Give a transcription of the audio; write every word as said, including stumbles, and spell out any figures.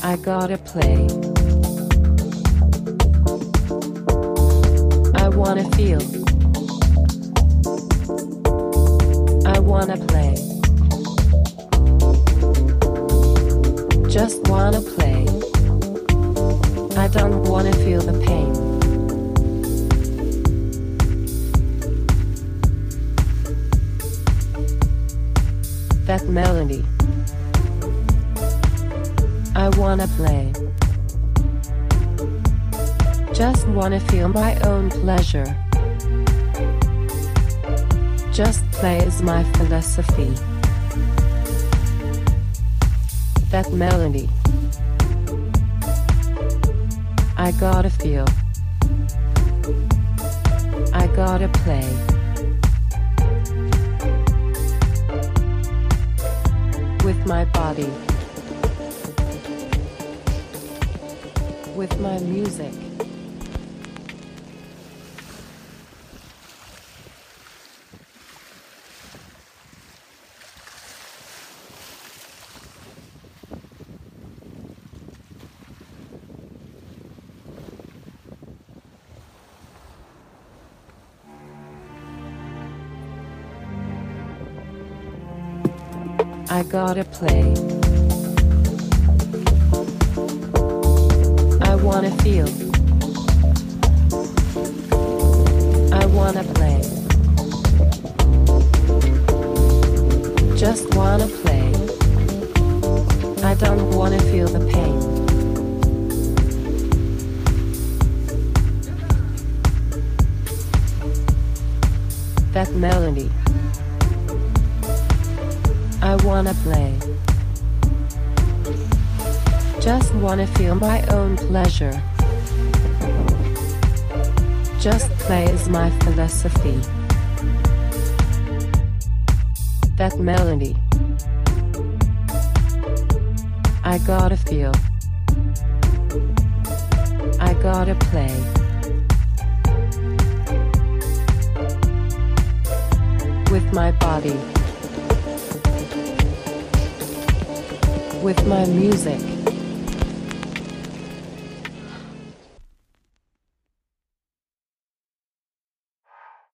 I gotta play. I wanna feel. I wanna play. Just wanna play. I don't wanna feel the pain. That melody. I wanna play. Just wanna feel my own pleasure. Just play is my philosophy. That melody. I gotta feel. I gotta play. With my body. With my music. I gotta play. I wanna feel. I wanna play. Just wanna play. I don't wanna feel the pain. That melody. I wanna play. Just wanna feel my own pleasure. Just play is my philosophy. That melody. I gotta feel. I gotta play. With my body. With my music.